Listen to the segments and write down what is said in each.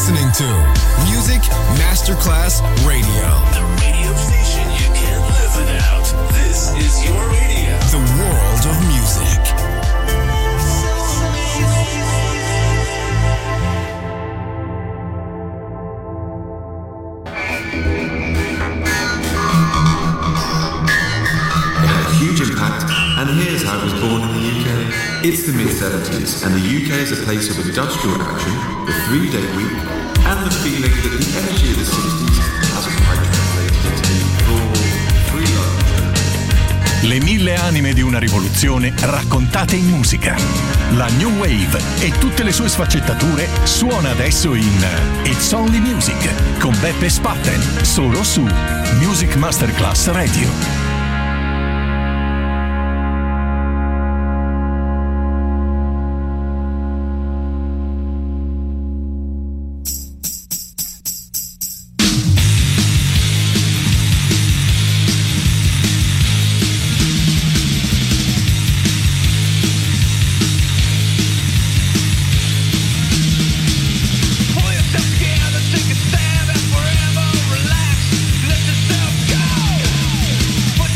listening to Music Masterclass Radio. The radio station you can't live without. This is your radio. The world of music. Huge impact, and here's how it was born in the UK. It's the mid-70s, and the UK is a place of industrial action, the 3-day week, and the feeling that the energy of the 60s hasn't quite translated into full freedom. Le 1000 anime di una rivoluzione raccontate in musica. La New Wave e tutte le sue sfaccettature suona adesso in It's Only Music con Beppe Spatten, solo su Music Masterclass Radio. Take a stab at forever, relax, let yourself go.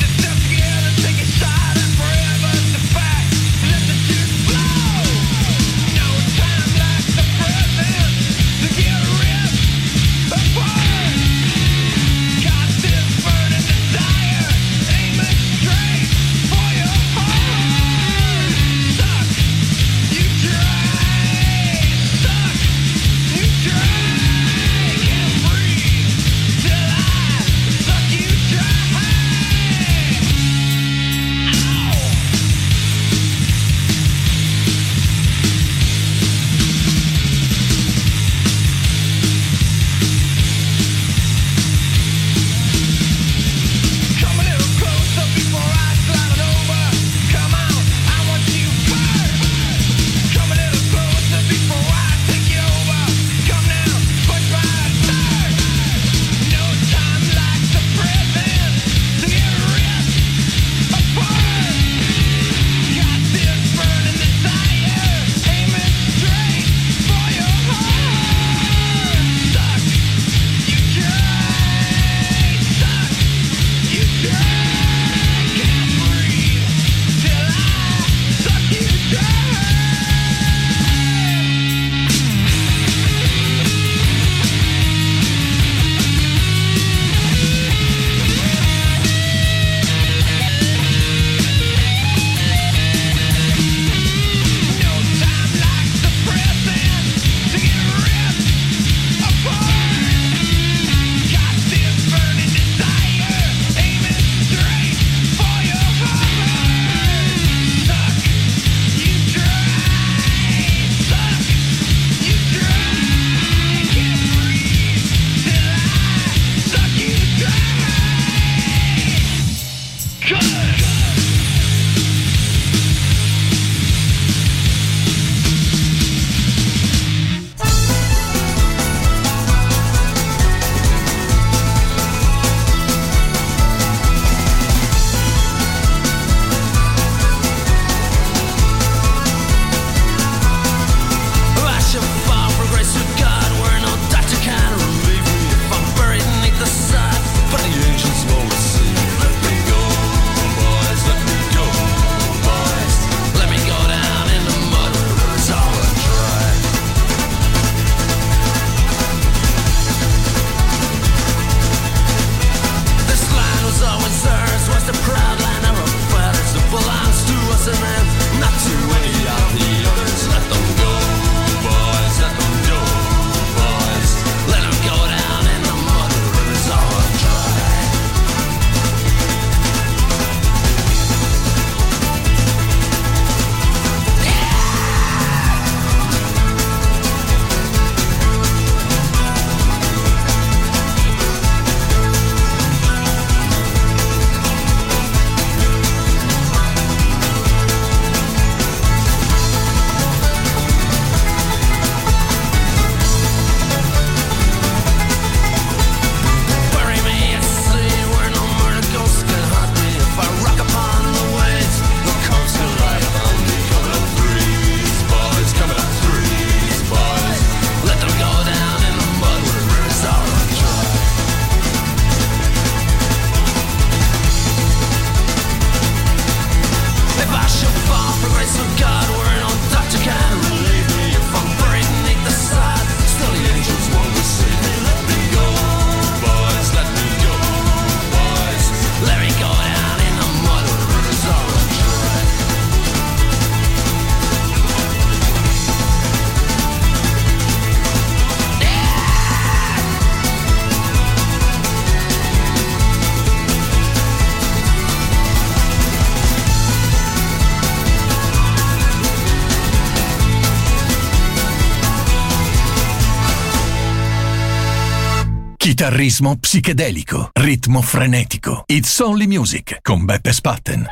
Chitarrismo psichedelico, ritmo frenetico. It's Only Music con Beppe Spatten.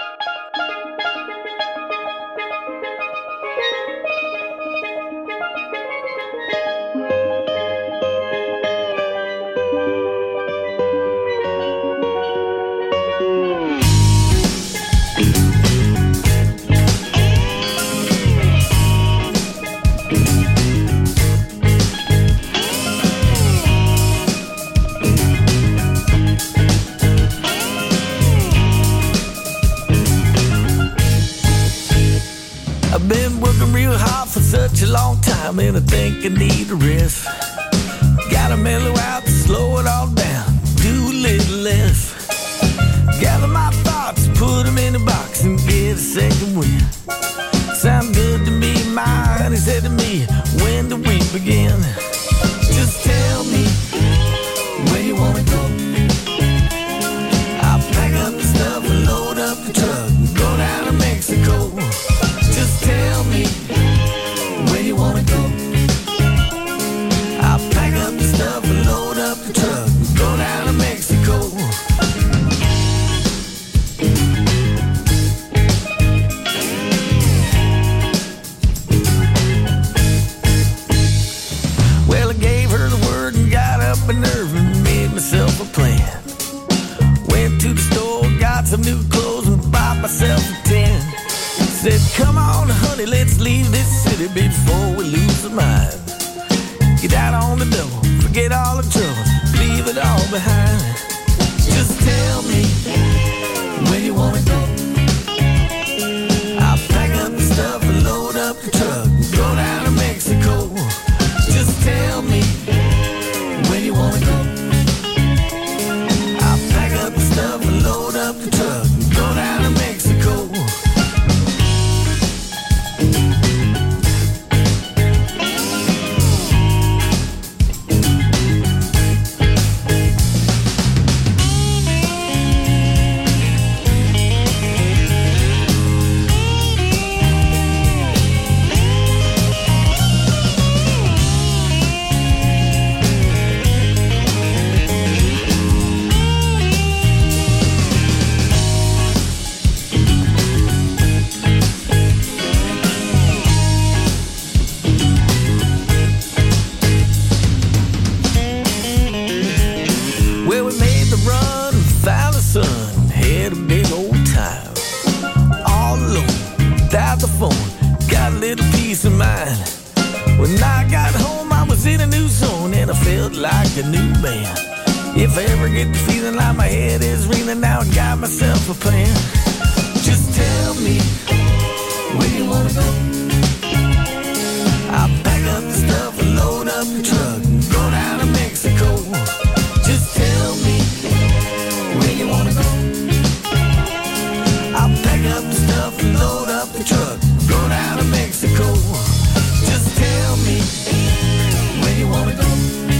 Such a long time and I think I need a rest. Gotta mellow out, slow it all down, do a little less. Gather my thoughts, put them in a box and get a second wind. Sound good to me, my honey said to me, when do we begin? Just tell me where you wanna go. I'll pack up the stuff and load up the truck and go down to Mexico. Just tell me where you wanna go. I'll pack up the stuff and load up the truck and go down to Mexico. Well, I gave her the word and got up a nerve and made myself a plan. Went to the store, got some new clothes and bought myself a tent. Said, come on, honey, let's leave this city before we lose our mind. Get out on the double, forget all the trouble, leave it all behind. Just tell me where you wanna go. I'll pack up the stuff and load up the truck and go down to Mexico. Just tell me where you wanna go. I'll pack up the stuff and load up the truck and go down to Mexico. When I got home, I was in a new zone and I felt like a new man. If I ever get the feeling like my head is reeling, now I got myself a plan. Just tell me where you wanna go. I'll pack up the stuff and load up the truck and go down to Mexico. Just tell me where you wanna go. I'll pack up the stuff and load up the truck and go down to Mexico. Just tell me where you wanna go.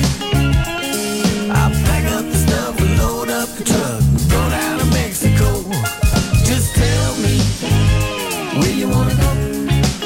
I'll pack up the stuff and load up the truck and go down to Mexico. Just tell me where you wanna go.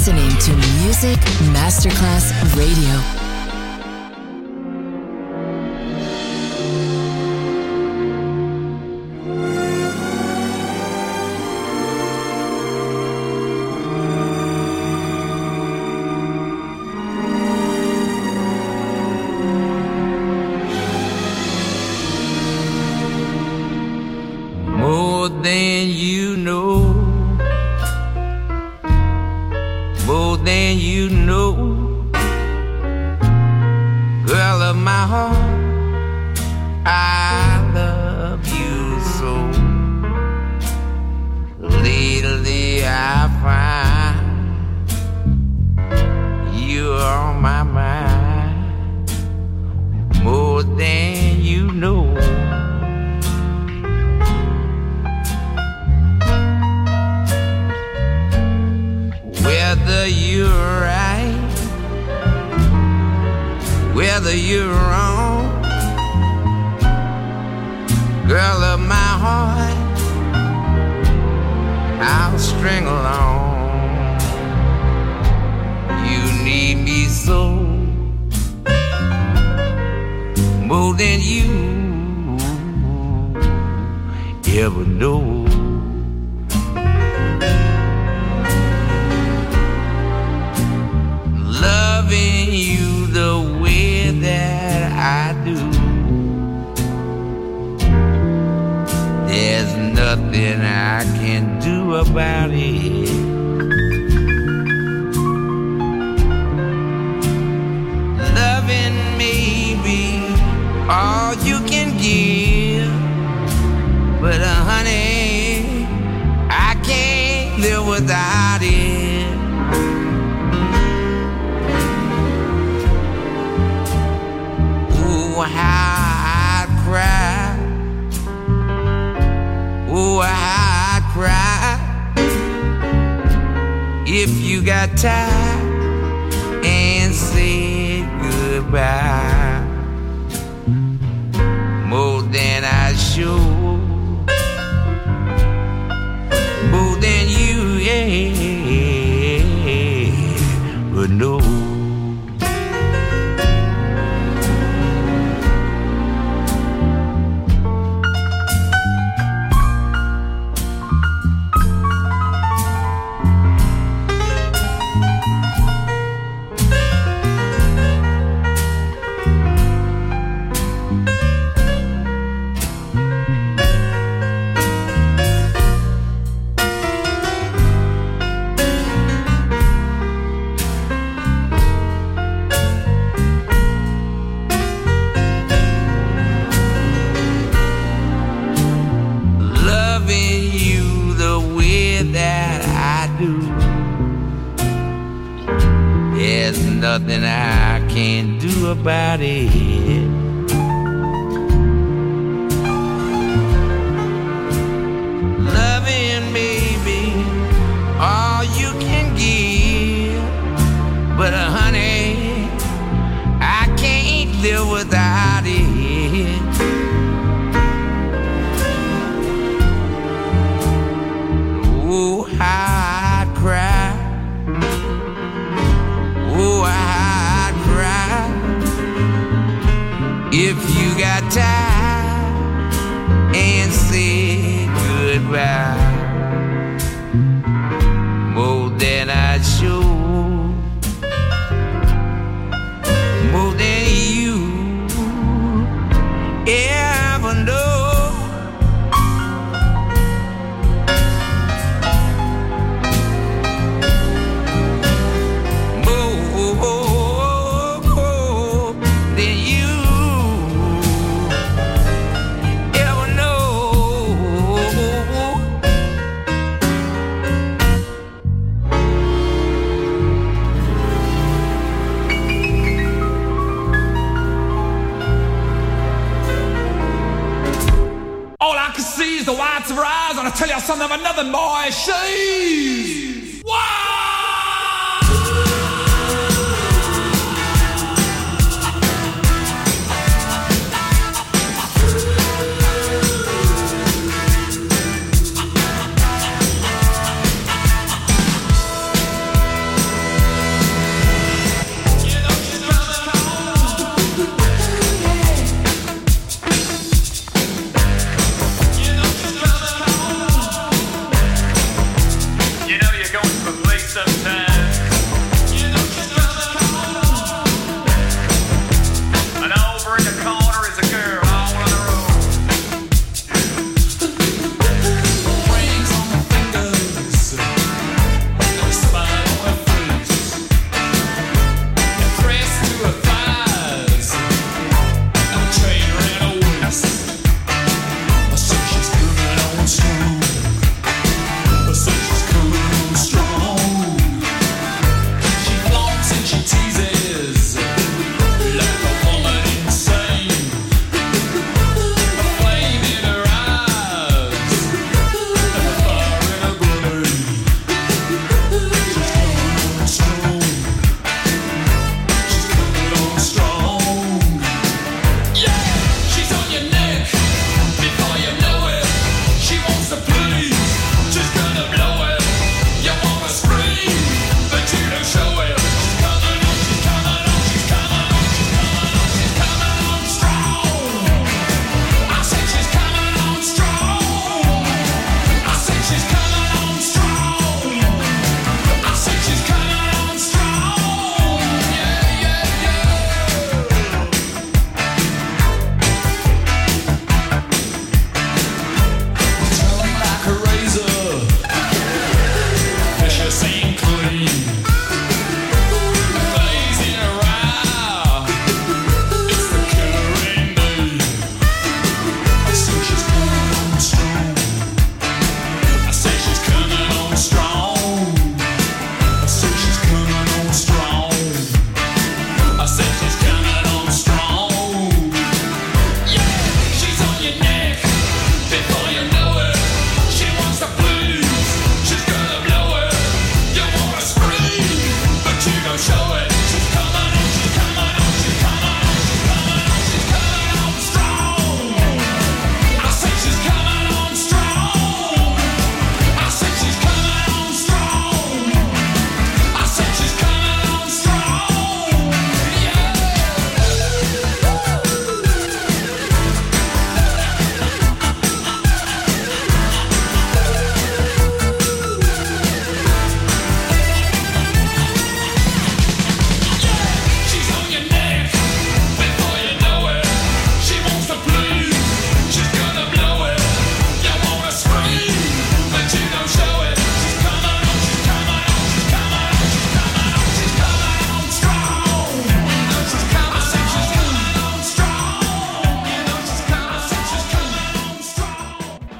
listening to Music Masterclass Radio. More than you know, more than you know, girl of my heart, I love you so. Lately I find you're on my mind, more than you know. Whether you're right, whether you're wrong, girl of my heart, I'll string along. You need me so, more than you ever know. Loving you the way that I do, there's nothing I can do about it. Loving may be all you can give, but honey, I can't live without it. How I'd cry, oh, how I'd cry if you got tired and said goodbye. More than I should, more than you ever know. Nothing I can do about it. Loving baby, all you can give, but honey, I can't live without it. Oh, how I'd cry, oh, I'd cry if you got tired and said goodbye. More than I should, more than you ever know. The whites of her eyes, and I tell you something of another boy, she's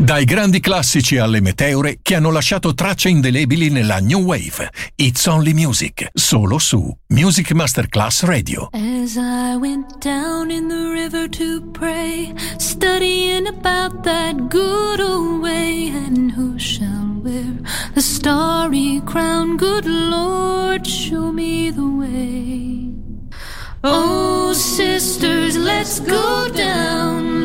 Dai grandi classici alle meteore che hanno lasciato tracce indelebili nella New Wave. It's Only Music, solo su Music Masterclass Radio. As I went down in the river to pray, studying about that good old way, and who shall wear the starry crown? Good Lord, show me the way. Oh, sisters, let's go down,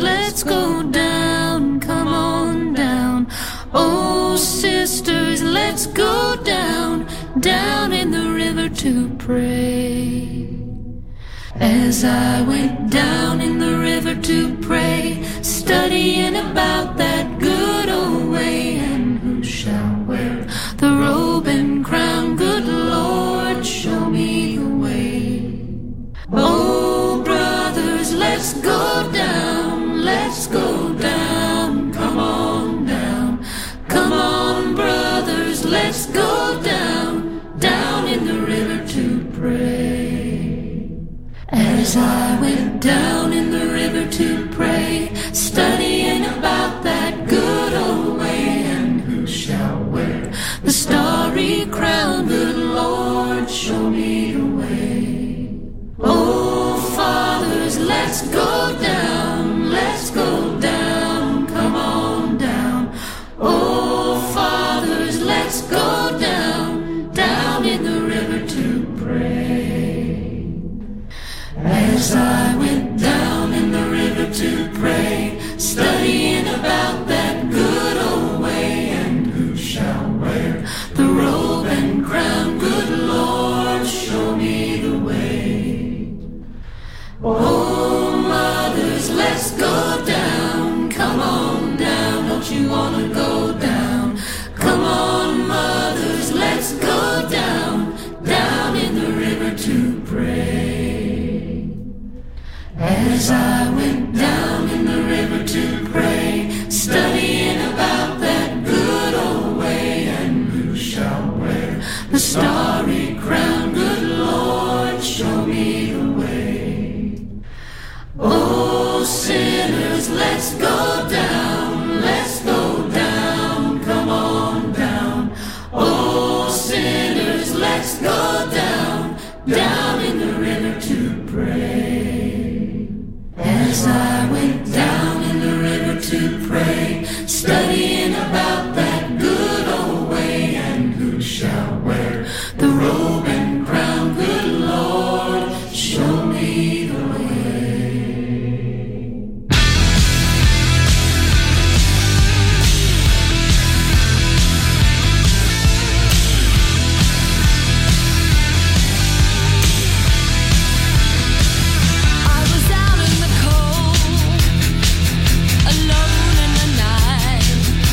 come on down. Oh, sisters, let's go down, down in the river to pray. As I went down in the river to pray, studying about that good old way, and who shall wear the robe and crown? Good Lord, show me the way. Oh, brothers, let's go down, come on down. Come on, brothers, let's go down, down in the river to pray. As I went down in the river to pray, studying about that good old way, and who shall wear the starry crown? Good Lord, show me the way. Oh, fathers, let's go down, come on down. Oh, fathers, let's go down, down in the river to pray. As I went down in the river to pray, studying about that good old way, and who shall wear the robe and crown? Good Lord, show me the way. Oh, mothers, let's go down, come on down, don't you wanna go down? Come on, mothers, let's go down, down in the river to pray. As I went down in the river to pray, studying about that good old way, and who shall wear the starry crown? Good Lord, show me the way. Oh, sinners, let's go down, come on down. Oh, sinners, let's go down, down in the river to pray. As I went down in the river to pray, studying about that good old way, and who shall wear the robe and crown? Good Lord, show me the way. Alone in the night,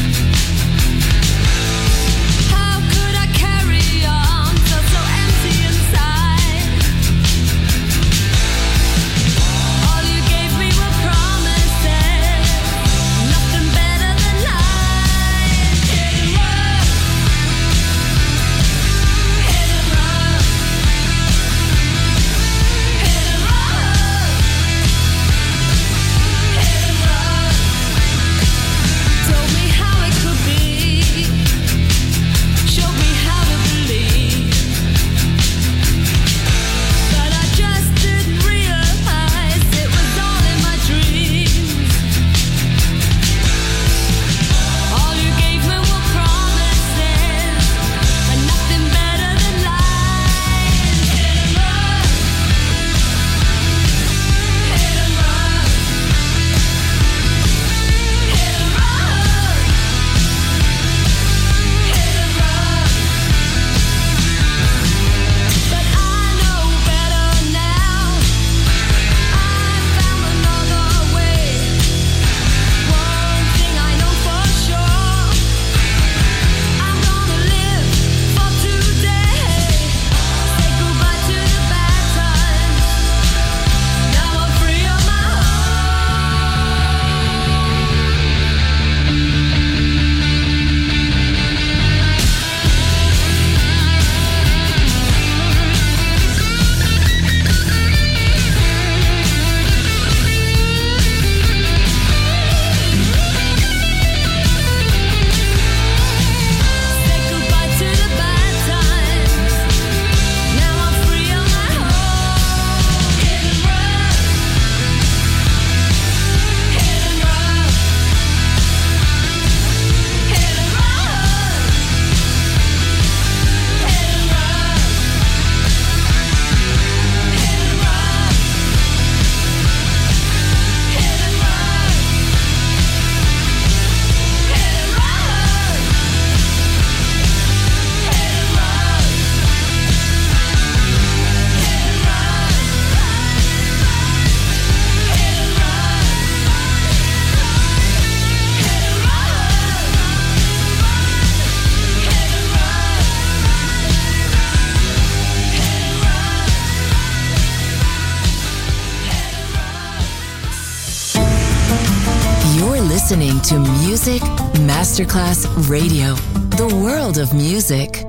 listening to Music Masterclass Radio, the world of music.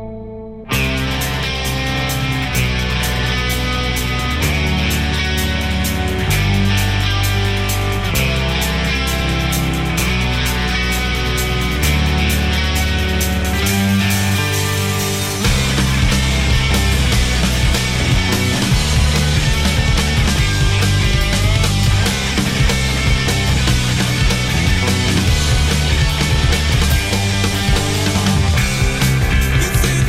You think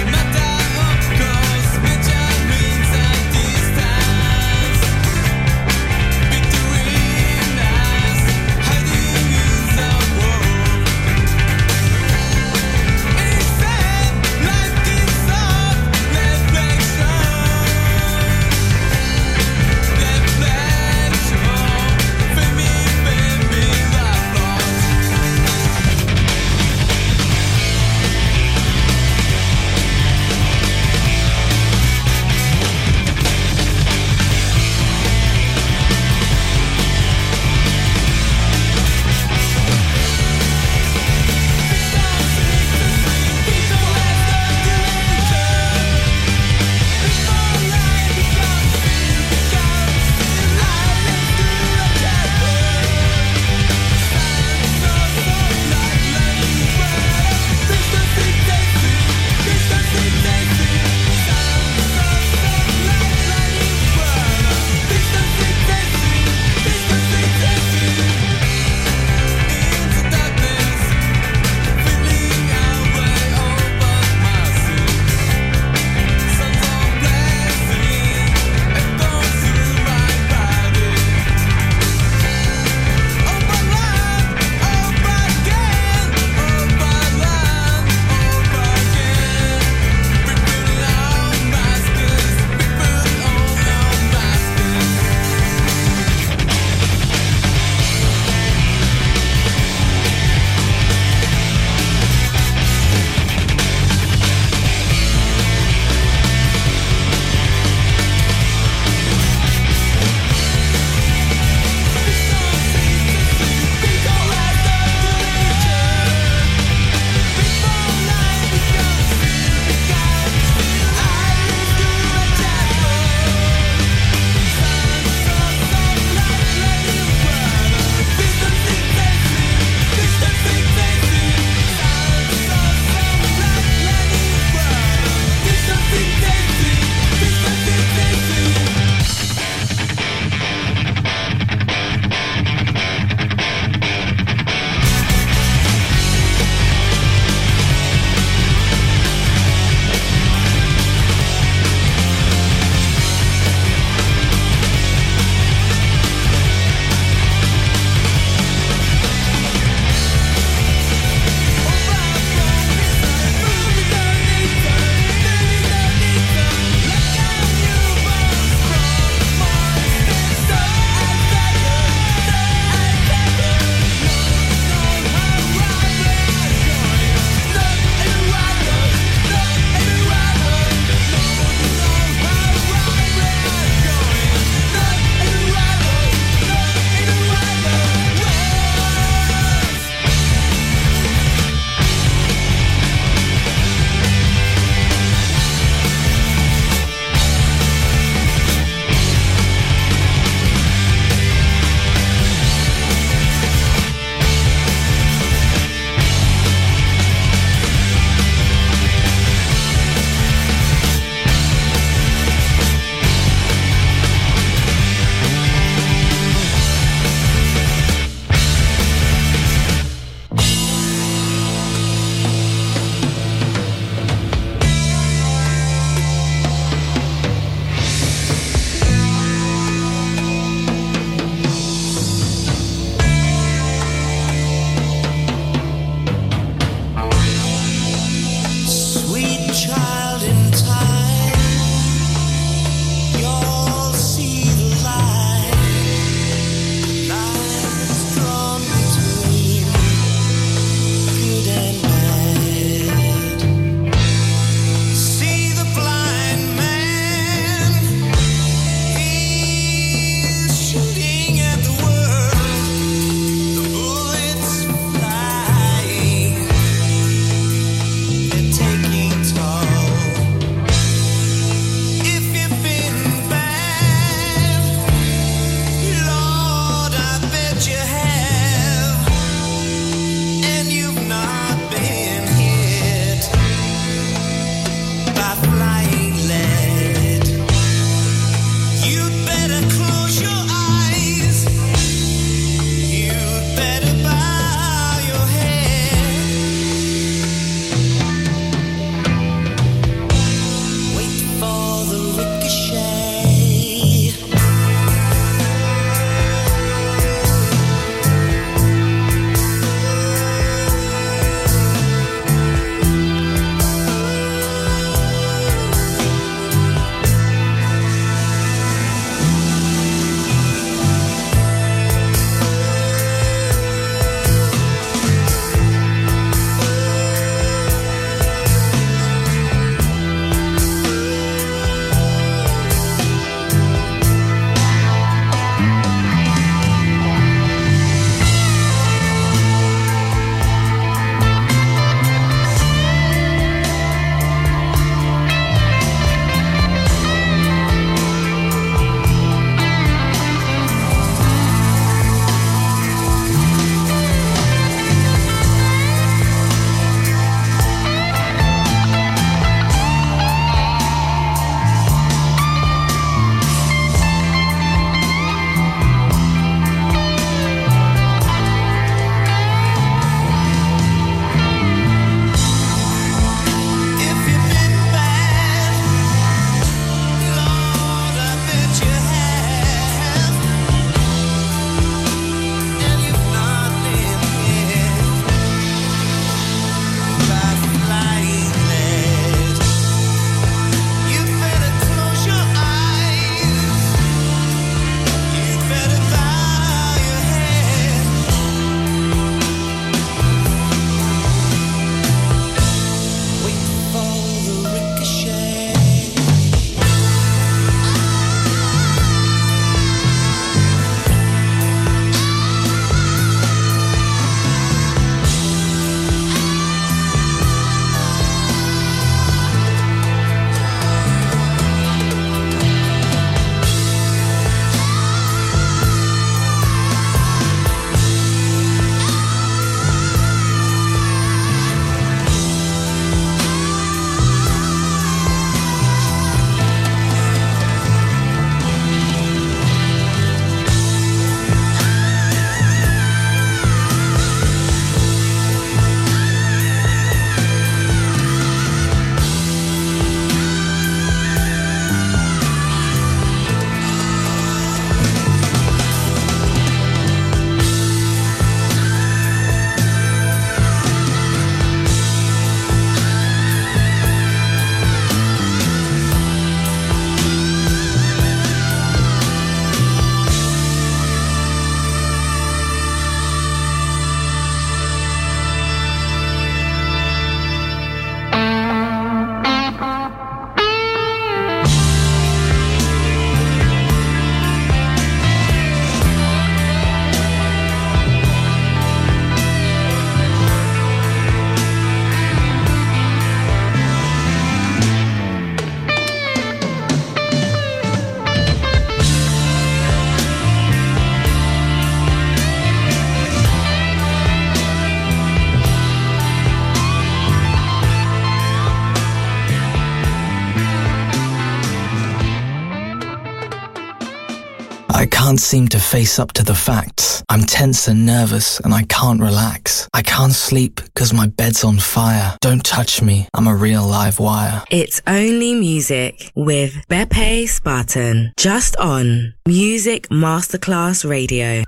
I can't seem to face up to the facts. I'm tense and nervous and I can't relax. I can't sleep because my bed's on fire. Don't touch me, I'm a real live wire. It's Only Music with Beppe Spartan. Just on Music Masterclass Radio.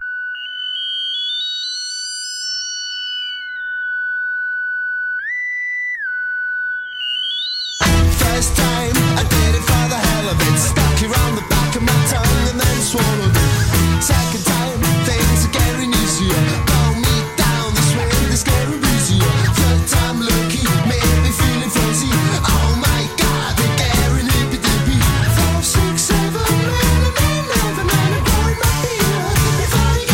First time I did it for the hell of it. Stuck around the back of my tongue and then swallowed it. Second time, things are getting easier. Pull me down this way, this getting easier. Third time lucky, made me feeling fuzzy. Oh my God, they're getting hippy dippy. 5, 6, 7, 8, 9, 11, I'm going my beer. If I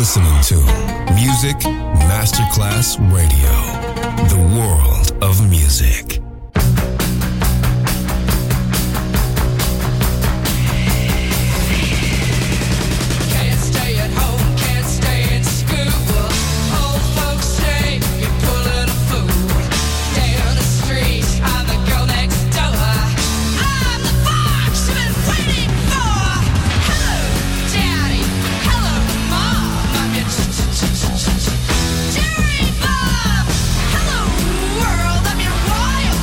listening to Music Masterclass Radio, the world of music. Can't stay at home, can't stay in school. Old folks say you're pulling a fool. Down the street, I'm the girl next door. I'm the fox you've been waiting for. Hello, Daddy. Hello, Mom. I'm your Jerry Bob. Hello, world. I'm your wild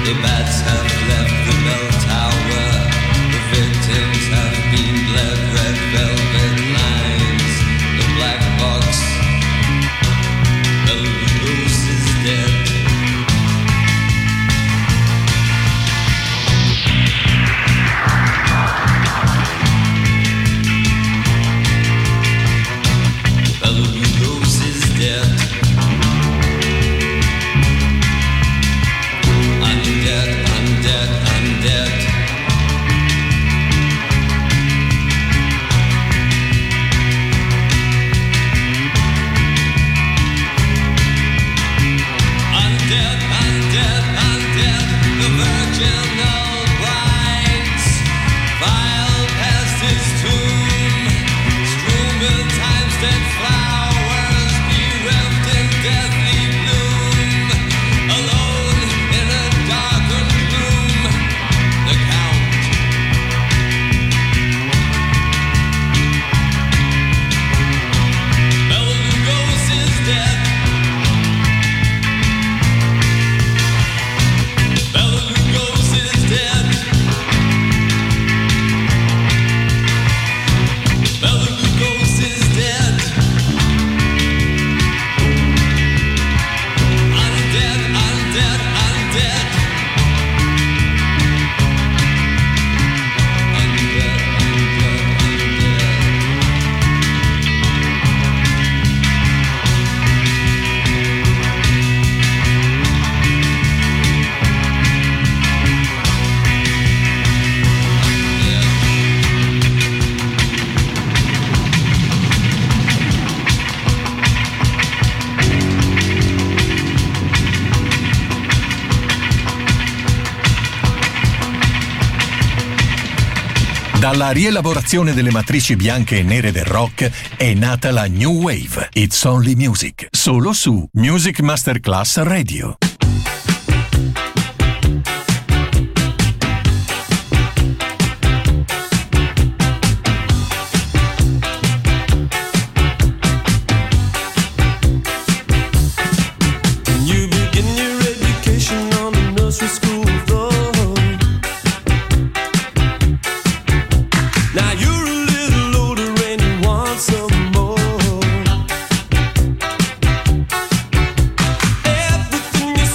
Dalla rielaborazione delle matrici bianche e nere del rock è nata la New Wave. It's Only Music, solo su Music Masterclass Radio. Everything you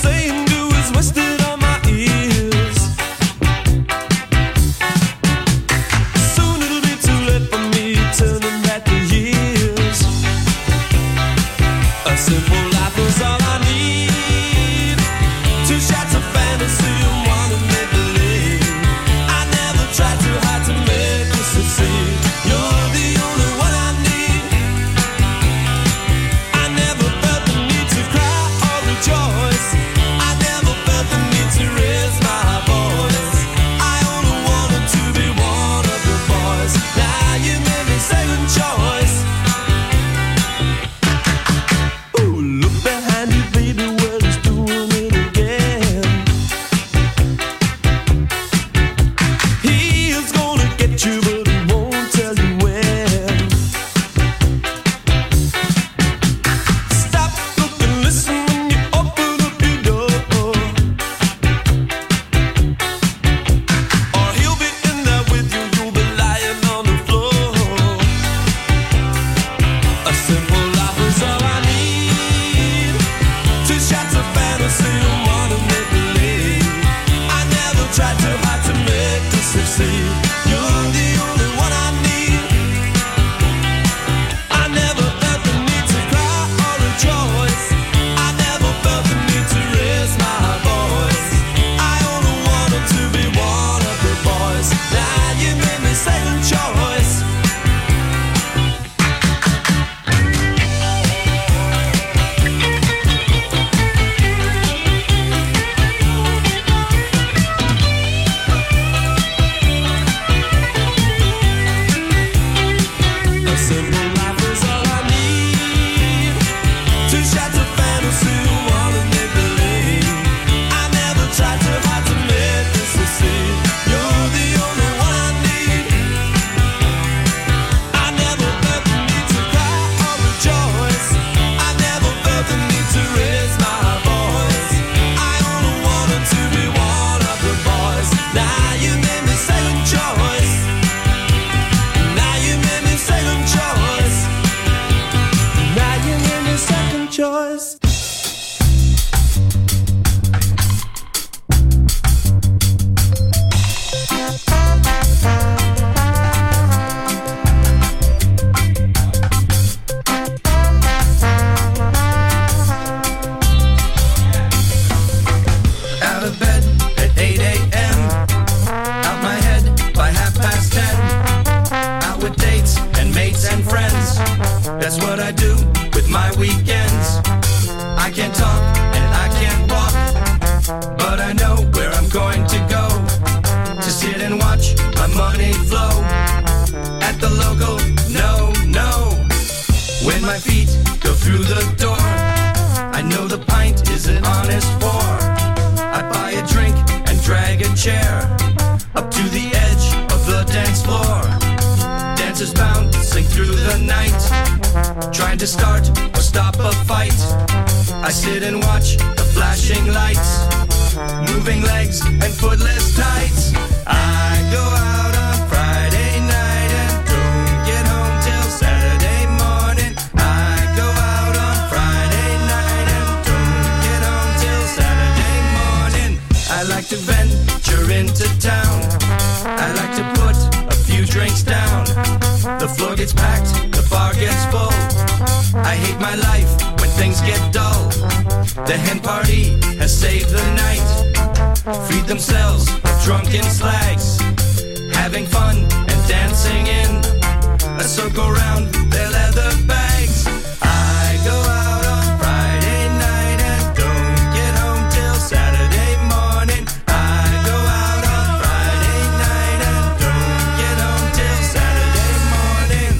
to start or stop a fight. I sit and watch the flashing lights, moving legs and footless tights. I go out on Friday night and don't get home till Saturday morning. I go out on Friday night and don't get home till Saturday morning. I like to venture into town. I like to put a few drinks down. The floor gets packed, the bar gets full. I hate my life when things get dull. The hen party has saved the night. Feed themselves drunken slags, having fun and dancing in a circle round their leather bags. I go out on Friday night and don't get home till Saturday morning. I go out on Friday night and don't get home till Saturday morning.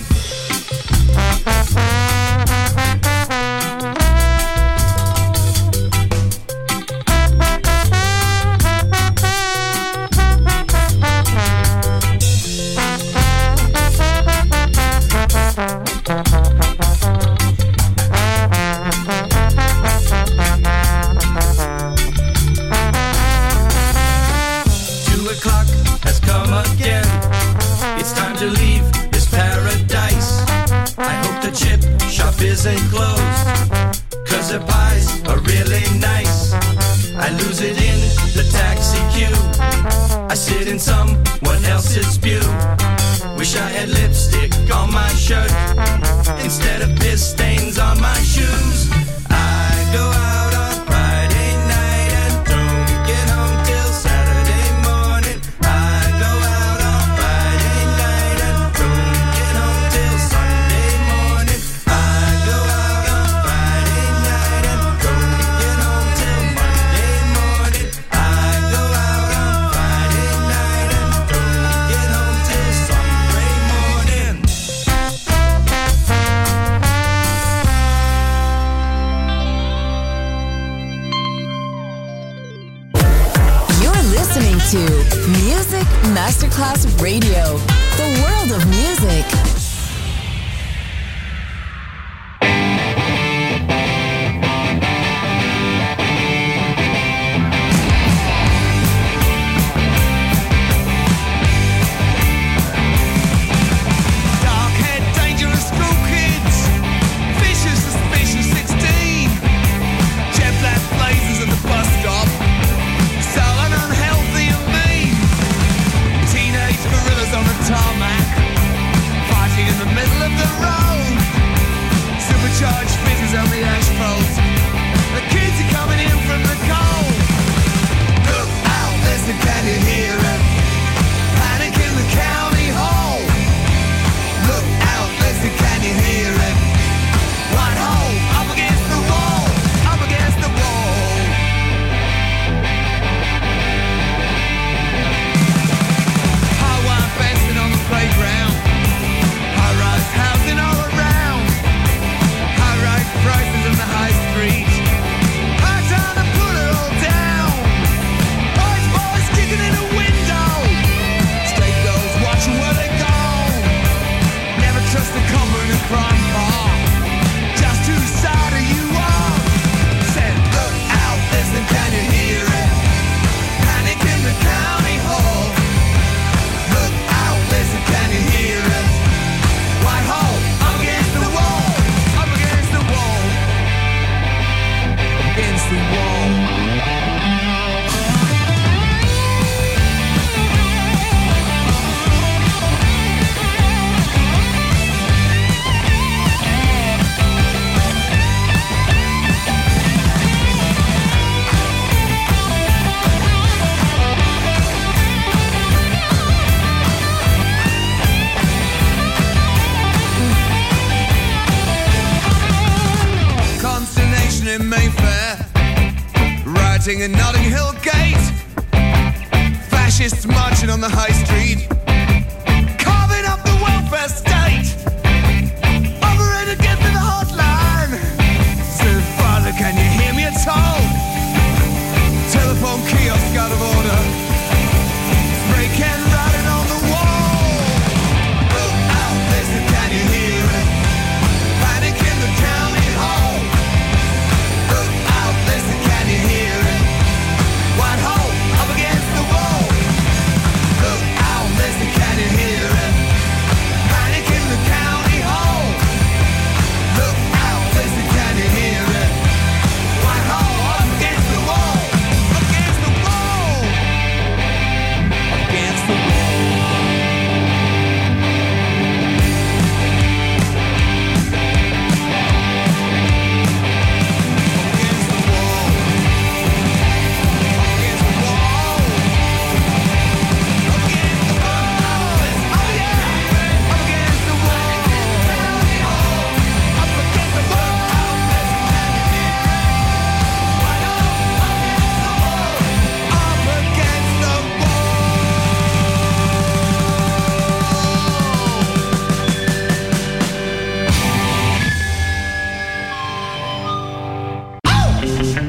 Isn't closed, 'cause their pies are really nice. I lose it in the taxi queue. I sit in someone else's spew. Wish I had lipstick on my shirt instead of piss stains on my shoes. I go out on Friday night and don't get home till Saturday morning. I go out on Friday night and don't get home till Sunday morning. I go out on Friday night and don't get home till Monday morning. I go out on Friday night and don't get home till Sunday morning. You're listening to Music Masterclass Radio, the world of music. Dark-haired, dangerous school kids, vicious, suspicious 16, jet black blazers at the bus stop, sullen, unhealthy and mean. Teenage gorillas on the tarmac, fighting in the middle of the road. Supercharged fizzes on the asphalt. The kids are coming in from the cold. Look out, listen, can you hear it? Panic in the county hall. Look out, listen, can you hear it? Whitehall, up against the wall, up against the wall. High-wire fencing on the playground. High-rise housing all around. High-rise prices in the high street. High time to put it all down. Boys kicking in the window. State girls watching where they go. Never trust a copper in a crime car. Just whose side are you on? Said, look out, listen, can you hear it? Panic in the county hall. Look out, listen, can you hear it? Whitehall, up against the wall, up against the wall, against the wall. Consternation in Mayfair, rioting in Notting Hill Gate, fascists marching on the high street, carving up the welfare state. Operator, get me the hotline. Said, Father, can you hear me at all? Telephone kiosk out of order. Spray can riding on the wall. Look out, listen, can you hear it? Panic in the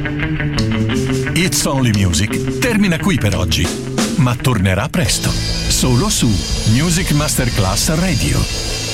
It's Only Music termina qui per oggi, ma tornerà presto, solo su Music Masterclass Radio.